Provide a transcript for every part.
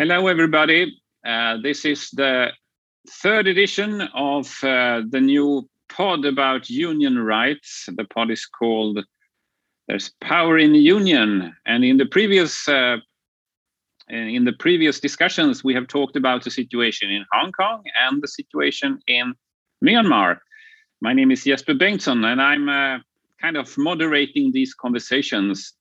Hello, everybody. This is the third edition of the new pod about union rights. The pod is called "There's Power in the Union," and in the previous discussions, we have talked about the situation in Hong Kong and the situation in Myanmar. My name is Jesper Bengtsson, and I'm kind of moderating these conversations.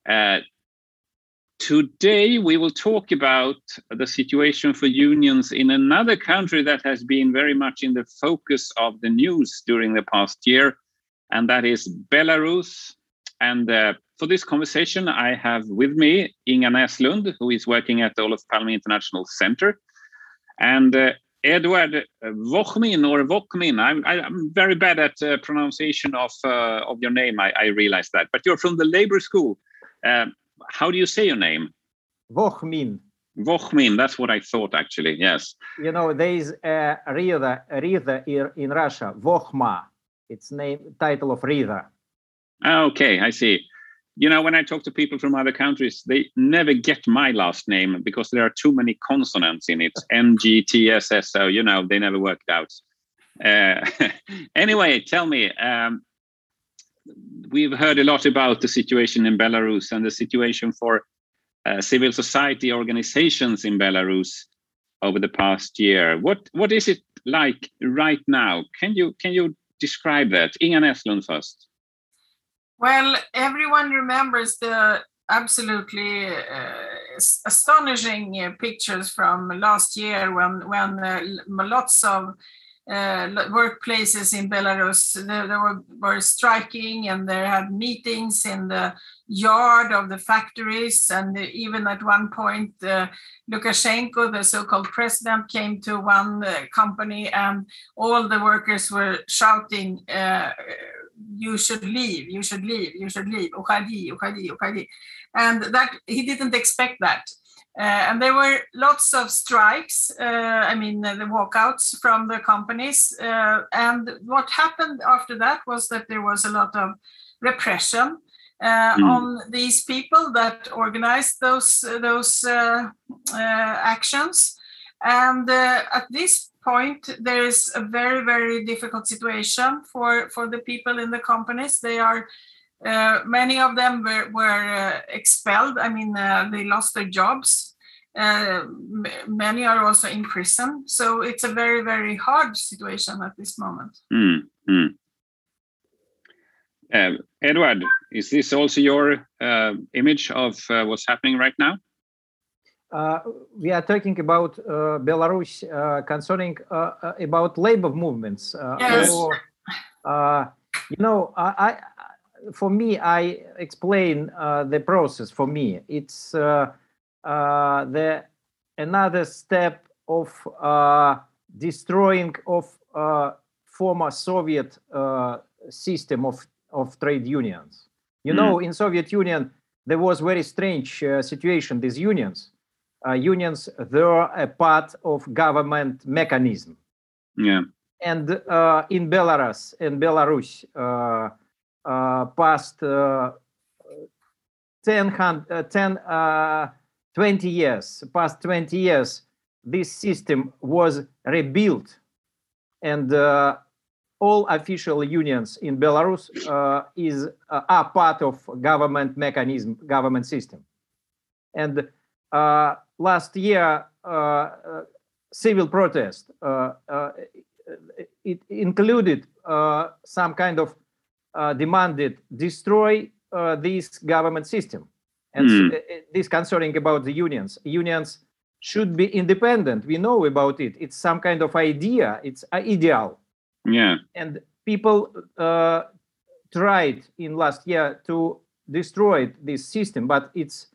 Today, we will talk about the situation for unions in another country that has been very much in the focus of the news during the past year, and that is Belarus. And for this conversation, I have with me Inga Näslund, who is working at the Olof Palme International Center, and Edward Wochmin, or Wochmin. I'm very bad at pronunciation of your name, I realize that, but you're from the labor school. How do you say your name? Wochmin. Wochmin, that's what I thought, actually, yes. You know, there is a Rida in Russia, Vokhma. It's title of Rida. Okay, I see. You know, when I talk to people from other countries, they never get my last name because there are too many consonants in it. MGTSSO, you know, they never worked out. Anyway, tell me, we've heard a lot about the situation in Belarus and the situation for civil society organizations in Belarus over the past year. What is it like right now? Can you describe that? Inga Näslund first. Well, everyone remembers the absolutely astonishing pictures from last year when lots of workplaces in Belarus they were striking, and they had meetings in the yard of the factories, and even at one point Lukashenko, the so-called president, came to one company and all the workers were shouting, you should leave, you should leave, you should leave, ukhadi, ukhadi, ukhadi. And that he didn't expect that. And there were lots of strikes, the walkouts from the companies. And what happened after that was that there was a lot of repression on these people that organized those actions. And at this point, there is a very, very difficult situation for the people in the companies. They are many of them were expelled. They lost their jobs. Many are also in prison. So it's a very, very hard situation at this moment. Edward, is this also your image of what's happening right now? We are talking about Belarus concerning about labor movements. Yes. For me, I explain the process. For me, it's another step of destroying of former Soviet system of trade unions. You know, in Soviet Union, there was very strange situation. These unions were a part of government mechanism. Yeah. And in Belarus, past 20 years, this system was rebuilt, and all official unions in Belarus are part of government mechanism, government system. And last year, civil protest, it included some kind of demanded destroy this government system. And this concerning about the unions. Unions should be independent. We know about it. It's some kind of idea. It's ideal. Yeah. And people tried in last year to destroy this system, but it's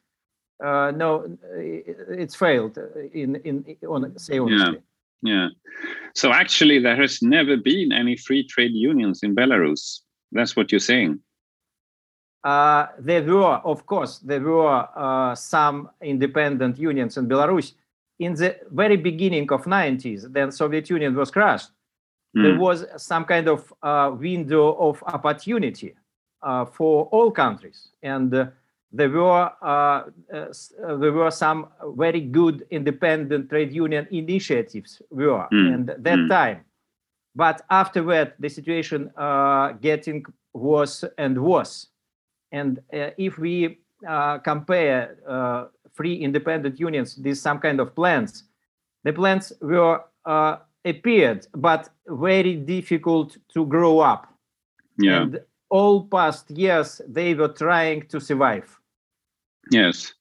it's failed. Say honestly. Yeah. So actually, there has never been any free trade unions in Belarus. That's what you're saying. There were, of course, some independent unions in Belarus. In the very beginning of 90s, then Soviet Union was crushed. There was some kind of window of opportunity for all countries. And there were some very good independent trade union initiatives and that time. But afterward, the situation getting worse and worse. And if we compare free independent unions with some kind of plans, the plans were appeared, but very difficult to grow up. Yeah. And all past years, they were trying to survive. Yes.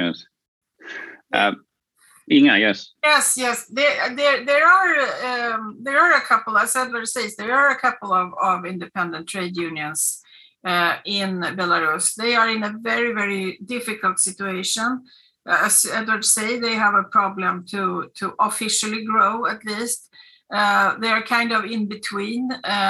Inga, yes. Yes. There are a couple, as Edward says, there are a couple of independent trade unions in Belarus. They are in a very, very difficult situation. As Edward said, they have a problem to officially grow, at least. They are kind of in between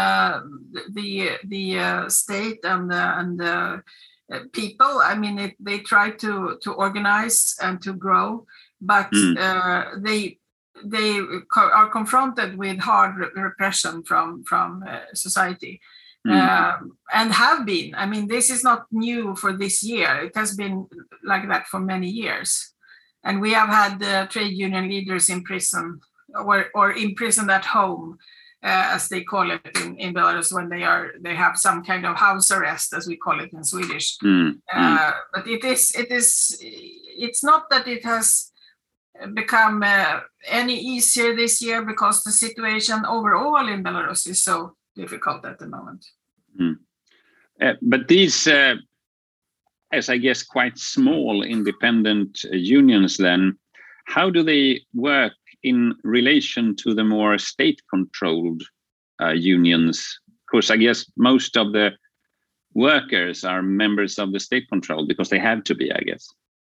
the state and the people. I mean, they try to organize and to grow, but they are confronted with hard repression from society. And have been. I mean, this is not new for this year. It has been like that for many years. And we have had trade union leaders in prison or imprisoned at home, as they call it in Belarus, when they have some kind of house arrest, as we call it in Swedish. But it's not that it has become any easier this year, because the situation overall in Belarus is so difficult at the moment. But these, as I guess, quite small independent unions, then, how do they work in relation to the more state-controlled unions? Because I guess most of the workers are members of the state-controlled because they have to be, I guess.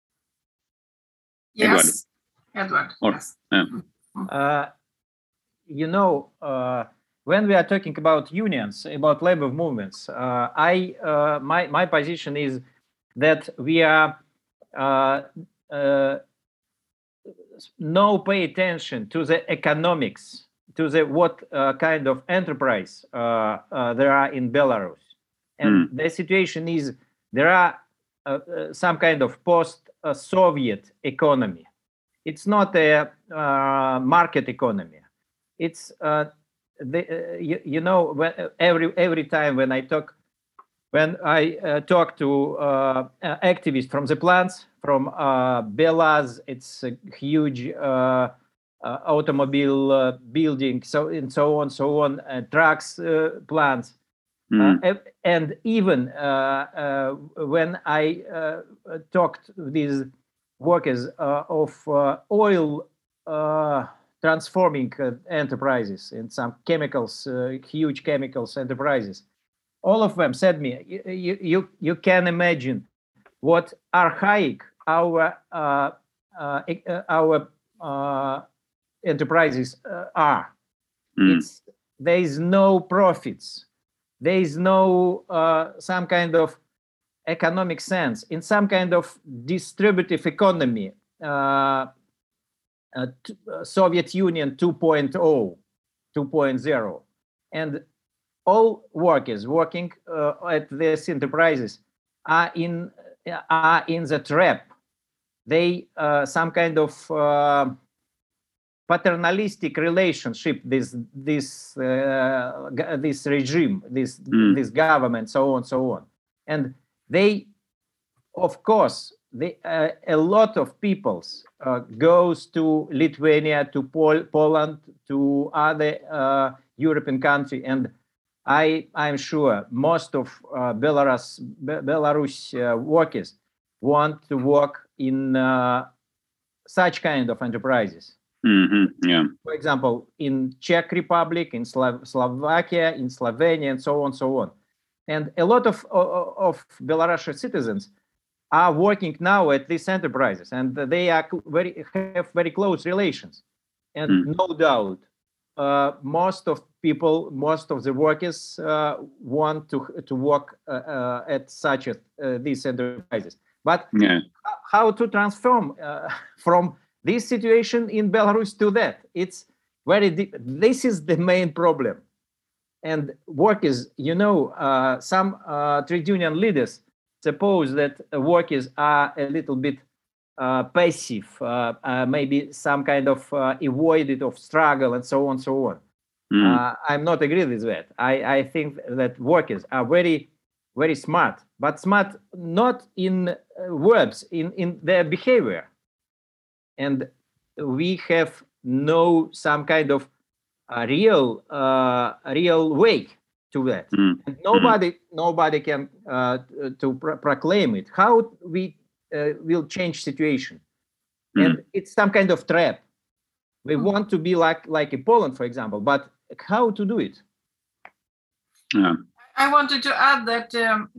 Yes, Edward. Yes. When we are talking about unions, about labor movements, my position is that we are no pay attention to the economics, to the what kind of enterprise there are in Belarus, and the situation is there are some kind of post-Soviet economy. It's not a market economy. It's every time when I talk to activists from the plants, from Belaz, it's a huge automobile building, so on, trucks, plants, and even when I talked with workers of oil transforming enterprises and some chemicals, huge chemicals enterprises, all of them said me, you can imagine what archaic our enterprises are. There is no profits. There is no some kind of economic sense in some kind of distributive economy. Soviet Union 2.0, and all workers working at these enterprises are in the trap. They some kind of paternalistic relationship. This regime, this government, so on, and they, of course. A lot of peoples goes to Lithuania, to Poland, to other European countries, and I'm sure most of Belarus workers want to work in such kind of enterprises. For example, in Czech Republic, in Slovakia, in Slovenia, and so on. And a lot of Belarusian citizens are working now at these enterprises, and they are have very close relations. And no doubt, most of the workers want to work at such these enterprises. But how to transform from this situation in Belarus to that? It's very deep. This is the main problem. And workers, some trade union leaders suppose that workers are a little bit passive, maybe some kind of avoided of struggle and so on, so on. I'm not agree with that. I think that workers are very, very smart, but smart not in verbs, in their behavior. And we have no some kind of real way to that. And nobody can proclaim it. How we will change situation? And it's some kind of trap. We want to be like in Poland, for example, but how to do it? I wanted to add that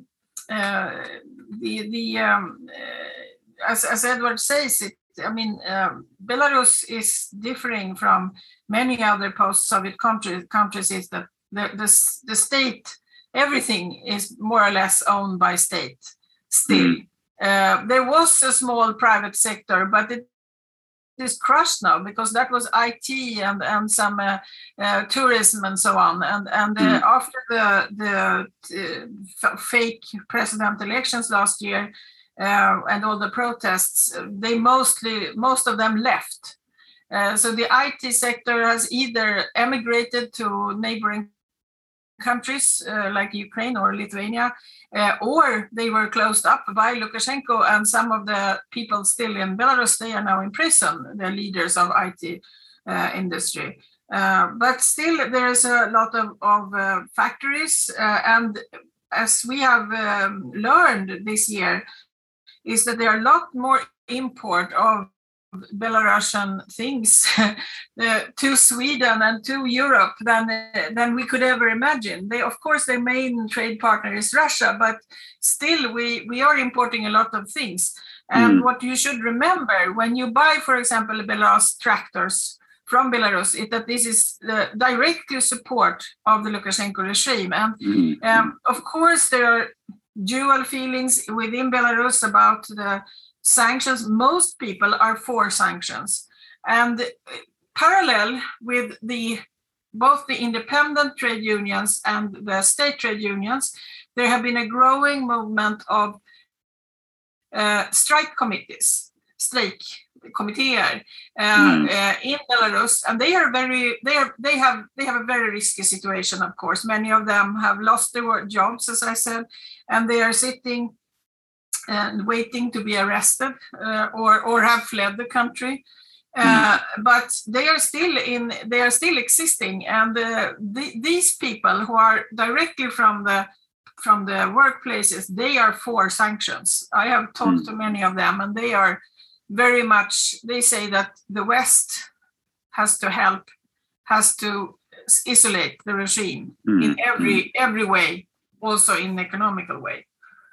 as Edward says it, I mean, Belarus is differing from many other post-Soviet countries is that the state, everything is more or less owned by state still. There was a small private sector, but it is crushed now because that was IT and some tourism and so on. And after the fake president elections last year and all the protests, most of them left. So the IT sector has either emigrated to neighboring countries like Ukraine or Lithuania, or they were closed up by Lukashenko, and some of the people still in Belarus, they are now in prison, the leaders of IT industry. But still there's a lot of factories, and as we have learned this year, is that there are a lot more import of Belarusian things to Sweden and to Europe than we could ever imagine. Of course, their main trade partner is Russia, but still we are importing a lot of things. And what you should remember when you buy, for example, Belarus tractors from Belarus, is that this is directly support of the Lukashenko regime. And of course, there are dual feelings within Belarus about the sanctions. Most people are for sanctions, and parallel with both the independent trade unions and the state trade unions, there have been a growing movement of strike committees, in Belarus, and they have a very risky situation. Of course, many of them have lost their jobs, as I said, and they are sitting and waiting to be arrested or have fled the country, but they are still existing. And these people who are directly from the workplaces, they are for sanctions. I have talked to many of them, and they are very much. They say that the West has to help, has to isolate the regime in every way, also in economical way.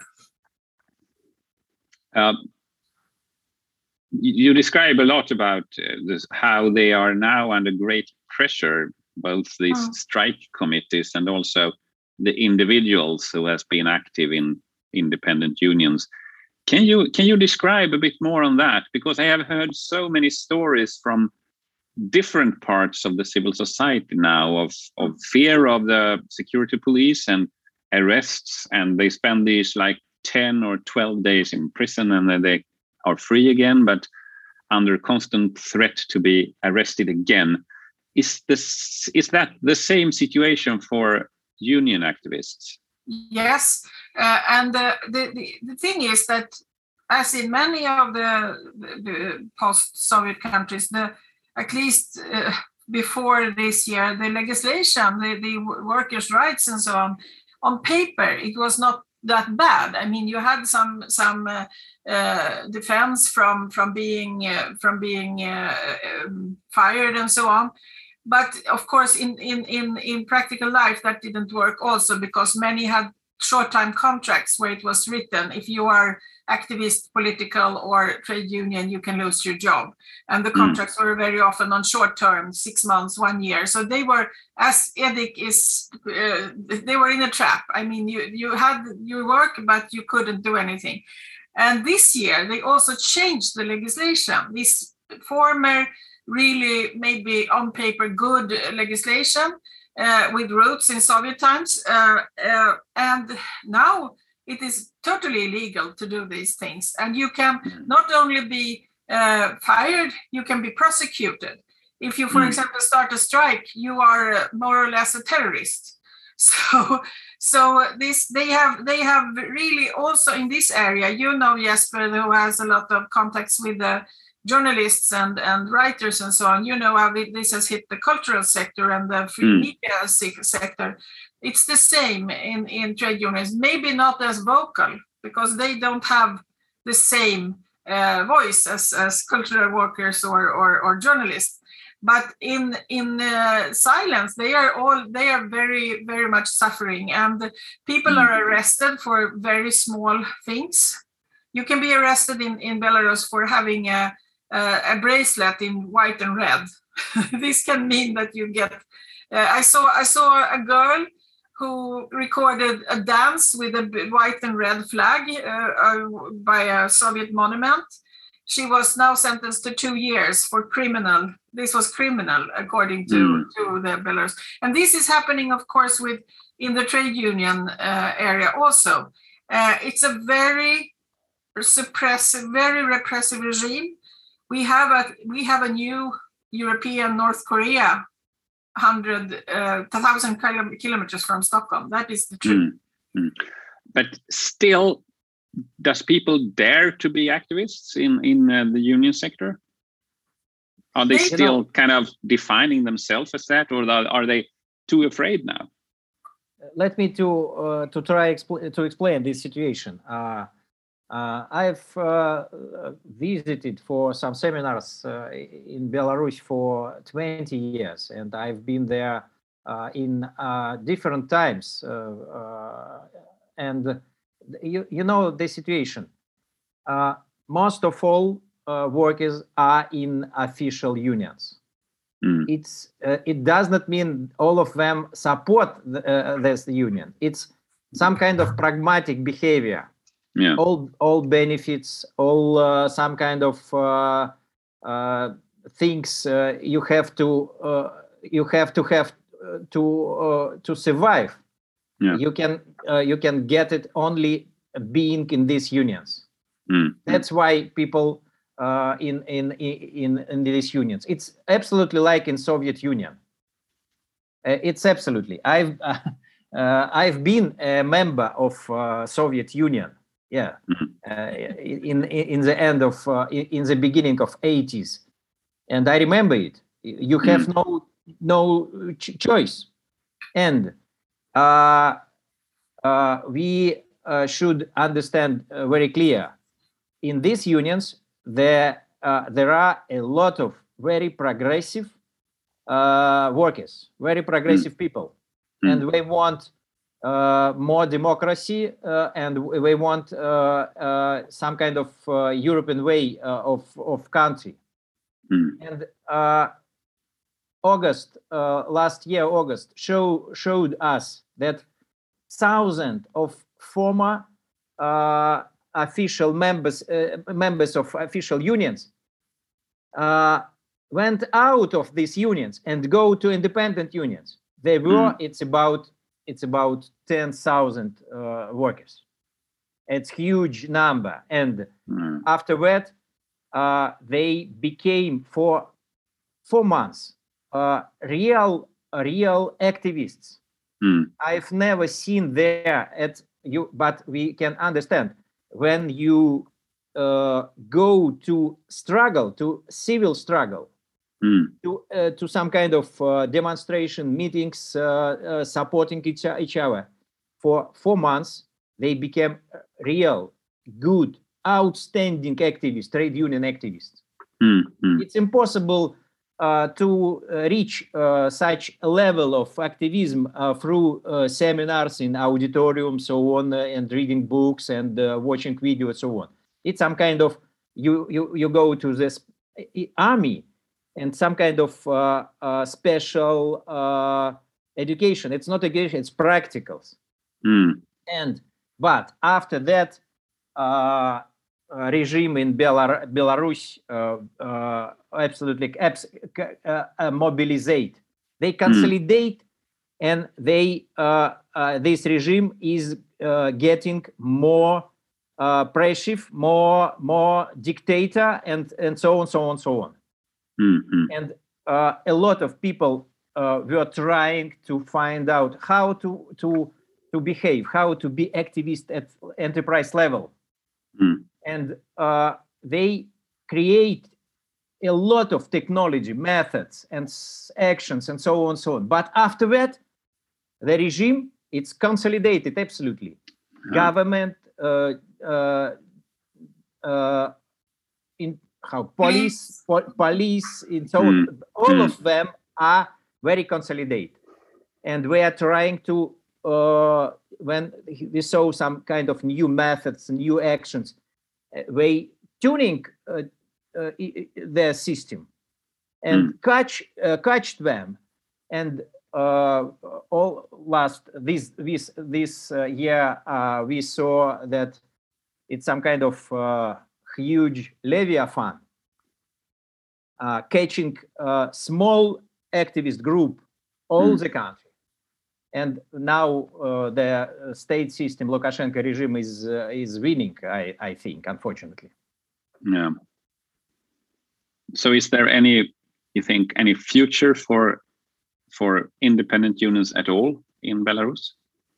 You describe a lot about how they are now under great pressure, both these strike committees and also the individuals who has been active in independent unions. Can you describe a bit more on that? Because I have heard so many stories from different parts of the civil society now of fear of the security police and arrests, and they spend these like 10 or 12 days in prison, and then they are free again, but under constant threat to be arrested again. Is that the same situation for union activists? Yes, and the thing is that, as in many of the post-Soviet countries, at least before this year, the legislation, the workers' rights and so on paper, it was not that bad. I mean, you had some defense from being fired and so on, but of course in practical life that didn't work also, because many had short-time contracts where it was written, if you are activist, political or trade union, you can lose your job, and the contracts were very often on short term, 6 months, 1 year. So they were, as Edik is, they were in a trap. I mean, you had your work, but you couldn't do anything. And this year they also changed the legislation. This former, really maybe on paper good legislation with roots in Soviet times, and now it is totally illegal to do these things. And you can not only be fired, you can be prosecuted. If you, for example, start a strike, you are more or less a terrorist. So this they have really also in this area, you know, Jesper, who has a lot of contacts with the journalists and writers and so on, you know how this has hit the cultural sector and the free media sector. It's the same in trade unions, maybe not as vocal because they don't have the same voice as cultural workers or journalists. But in silence, they are very, very much suffering, and people are arrested for very small things. You can be arrested in Belarus for having a bracelet in white and red. This can mean that you get. I saw a girl who recorded a dance with a white and red flag by a Soviet monument. She was now sentenced to 2 years for criminal. This was criminal, according to the Belarus. And this is happening, of course, in the trade union area also. It's a very suppressive, very repressive regime. We have a new European North Korea, 1,000 kilometers from Stockholm. That is the truth. But still, does people dare to be activists in the union sector? Are they still kind of defining themselves as that, or are they too afraid now? Let me to try to explain this situation. I've visited for some seminars in Belarus for 20 years, and I've been there in different times. And you know the situation. Most of all workers are in official unions. It does not mean all of them support this union. It's some kind of pragmatic behavior. Yeah. All benefits, all some kind of things you have to have to survive. Yeah. You can get it only being in these unions. That's why people in these unions. It's absolutely like in Soviet Union. It's absolutely. I've been a member of Soviet Union. Yeah, in the end of in the beginning of 80s, and I remember it. You have no choice, and we should understand very clear. In these unions, there are a lot of very progressive workers, very progressive people, and they want more democracy, and we want some kind of European way of country. And last year August showed us that thousands of former official members of official unions went out of these unions and go to independent unions. They were it's about 10,000 workers. It's huge number. And after that, they became for 4 months real activists. I've never seen there but we can understand when you go to struggle, to civil struggle, to some kind of demonstration, meetings, supporting each other. For 4 months, they became real, good, outstanding activists, trade union activists. It's impossible to reach such a level of activism through seminars in auditoriums, so on, and reading books and watching videos, so on. It's some kind of you go to this army and some kind of special education. It's not education; it's practicals. But after that, regime in Belarus absolutely mobilizate. They consolidate, and they this regime is getting more oppressive, more dictator, and so on, so on, so on. Mm-hmm. And a lot of people were trying to find out how to behave, how to be activist at enterprise level. Mm. And they create a lot of technology, methods, and actions, and so on, so on. But after that, the regime, it's consolidated absolutely. Government, in how police, police, and so on. All of them are very consolidated, and we are trying to. When we saw some kind of new methods, new actions, we tuning their system and catch them, and all last this year we saw that it's some kind of huge Leviathan catching small activist group all the country. And now the state system, Lukashenko regime is winning, I think, unfortunately. Yeah. So is there any, you think, any future for independent unions at all in Belarus?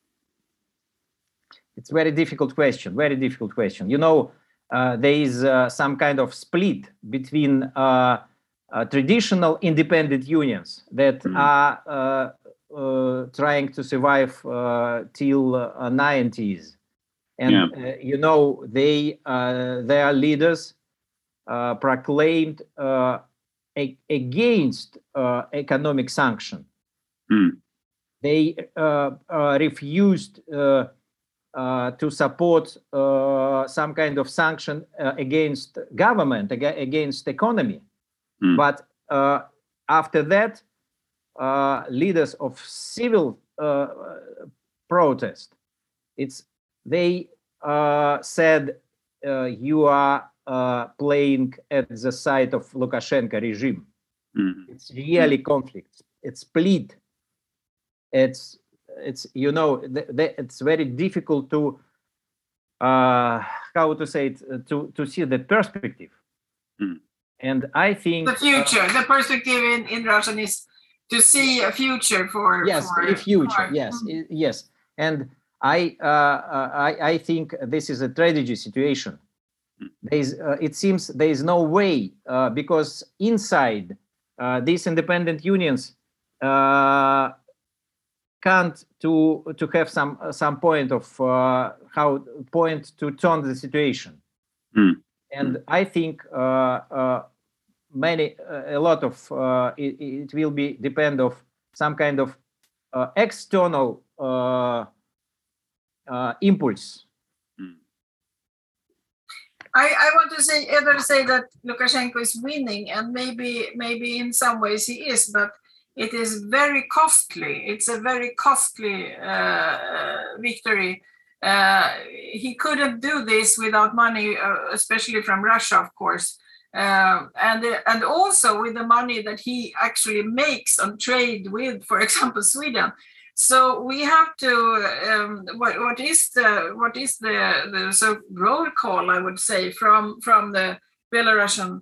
It's a very difficult question, very difficult question. You know, there is some kind of split between traditional independent unions that are trying to survive till 90s, and you know, their leaders proclaimed against economic sanction. They refused to support some kind of sanction against government, against economy. But after that, leaders of civil protest, they said you are playing at the side of Lukashenko regime. It's really conflict. It's split. It's you know, it's very difficult to how to say it, to see the perspective. And I think the future, the perspective in Russian is to see a future for a future. Yes. And I think this is a tragedy situation. It seems there is no way because inside these independent unions can't to have some point of how point to turn the situation. And I think a lot of it will be depend of some kind of external impulse. I want to say that Lukashenko is winning, and maybe in some ways he is, but it is very costly. It's a very costly victory. He couldn't do this without money, especially from Russia, of course, and also with the money that he actually makes on trade with, for example, Sweden. So we have to what is the so roll call, I would say, from the Belarusian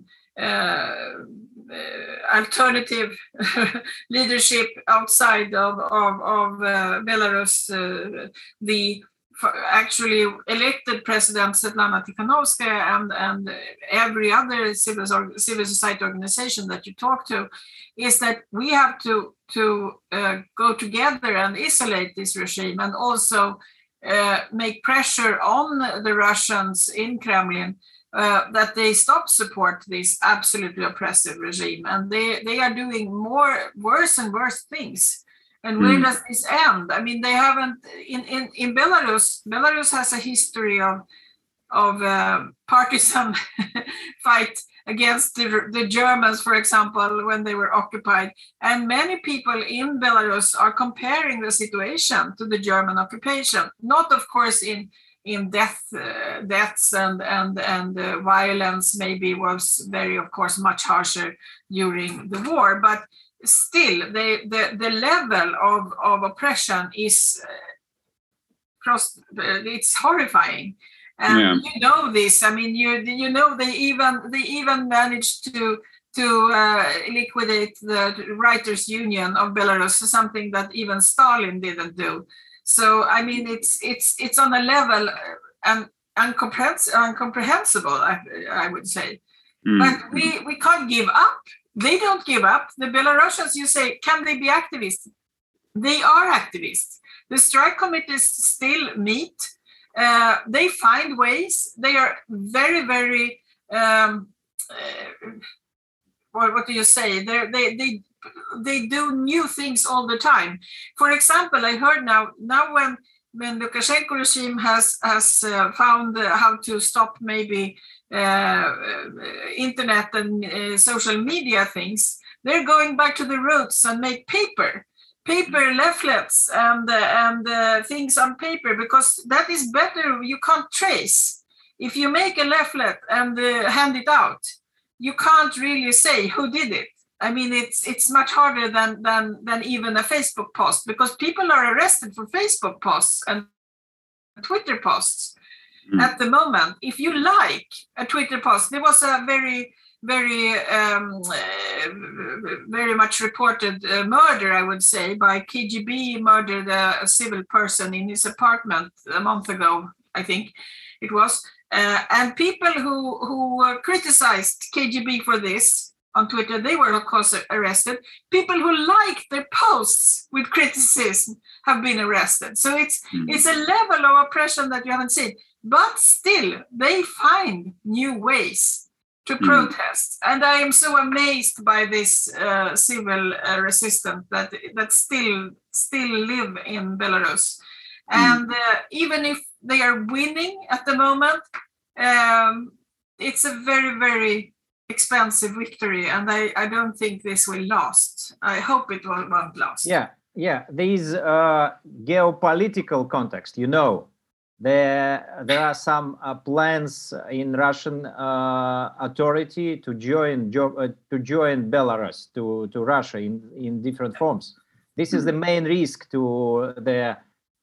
alternative leadership outside of Belarus, the actually elected president Svetlana Tikhanovskaya and every other civil society organization that you talk to, is that we have to go together and isolate this regime, and also make pressure on the Russians in Kremlin that they stop support this absolutely oppressive regime, and they are doing worse and worse things. And where does this end? I mean, they haven't in Belarus. Belarus has a history of partisan fight against the Germans, for example, when they were occupied. And many people in Belarus are comparing the situation to the German occupation. Not, of course, in deaths and violence maybe was very, of course, much harsher during the war, but still the level of oppression is it's horrifying. And you know this. I mean, you know they even managed to liquidate the writers' union of Belarus, something that even Stalin didn't do. So I mean, it's on a level incomprehensible. I would say, but we can't give up. They don't give up. The Belarusians, you say, can they be activists? They are activists. The strike committees still meet. They find ways. They are very, very. What do you say? They do new things all the time. For example, I heard now when Lukashenko regime has found how to stop maybe internet and social media things, they're going back to the roots and make paper leaflets and things on paper, because that is better. You can't trace. If you make a leaflet and hand it out, you can't really say who did it. I mean, it's much harder than even a Facebook post, because people are arrested for Facebook posts and Twitter posts at the moment. If you like a Twitter post, there was a very much reported murder, I would say, by KGB murdered a civil person in his apartment a month ago, I think it was. And people who criticized KGB for this on Twitter, they were of course arrested. People who liked their posts with criticism have been arrested. So it's a level of oppression that you haven't seen. But still, they find new ways to protest. And I am so amazed by this civil resistance that still live in Belarus. And even if they are winning at the moment, it's a very, very expensive victory. And I don't think this will last. I hope it won't last. Yeah. These geopolitical context, there are some plans in Russian authority to join Belarus to Russia in different forms. This is the main risk to the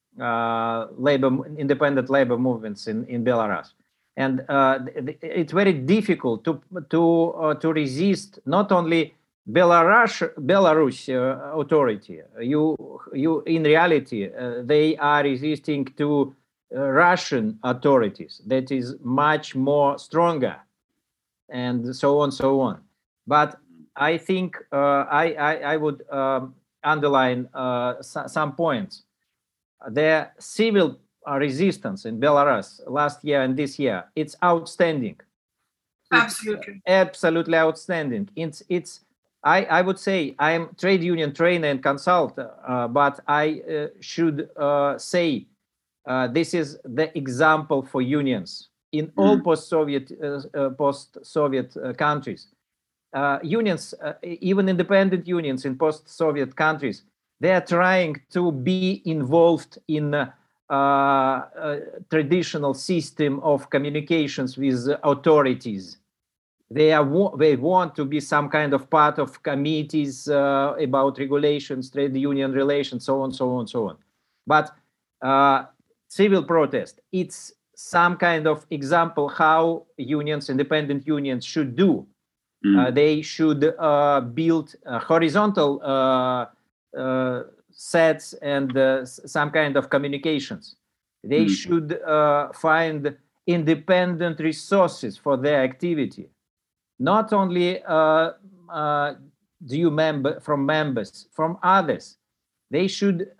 independent labor movements in Belarus, and it's very difficult to resist not only Belarus authority. You in reality they are resisting to Russian authorities that is much more stronger, and so on. But I think I would underline some points. The civil resistance in Belarus last year and this year, it's outstanding. Absolutely outstanding. I would say I'm trade union trainer and consultant, but I should say this is the example for unions in all post-Soviet countries. Unions, even independent unions in post-Soviet countries, they are trying to be involved in traditional system of communications with authorities. They want to be some kind of part of committees about regulations, trade union relations, so on. But civil protest, it's some kind of example how unions, independent unions should do. They should build horizontal sets and some kind of communications. They should find independent resources for their activity. Not only due from members, from others. They should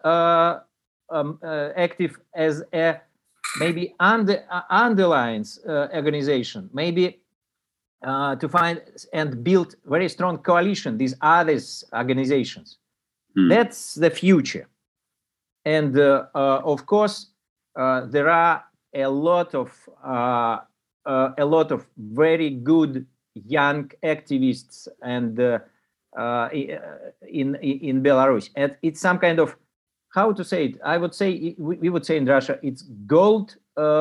active as a maybe underlines organization, maybe to find and build very strong coalition, these others organizations. That's the future. And of course, there are a lot of very good young activists and in Belarus. And it's some kind of, how to say it? I would say, we would say in Russia, it's gold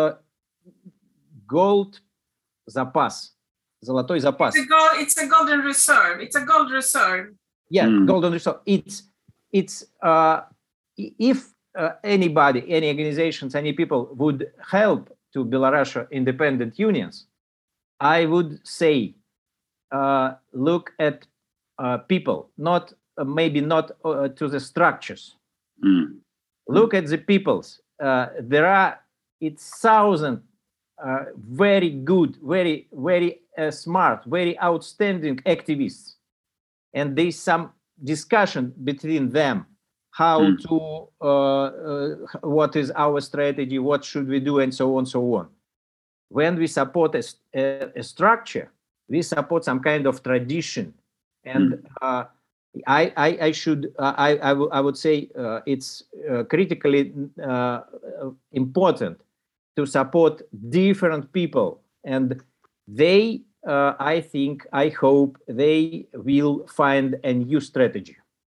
zapas. Золотой запас. It's a golden reserve. It's a gold reserve. Yeah, golden reserve. It's if anybody, any organizations, any people would help to Belarus independent unions, I would say, look at people, not maybe not to the structures. Look at the peoples. There are thousands very good, very smart, very outstanding activists, and there's some discussion between them how to what is our strategy, what should we do, and so on, so on. When we support a structure, we support some kind of tradition, and I would say it's critically important to support different people, and they, I think, I hope they will find a new strategy.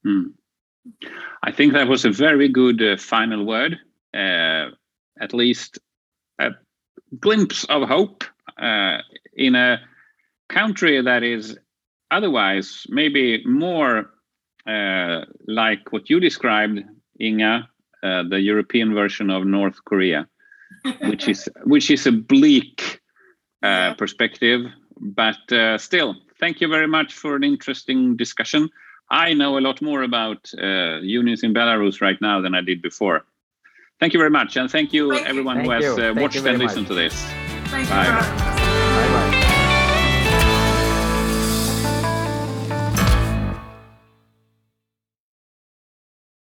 I think that was a very good final word, at least a glimpse of hope in a country that is otherwise maybe more like what you described, Inga, the European version of North Korea, which is a bleak perspective, but still, thank you very much for an interesting discussion. I know a lot more about unions in Belarus right now than I did before. Thank you very much, and thank you everyone who has watched and listened to this. Thank you. Bye.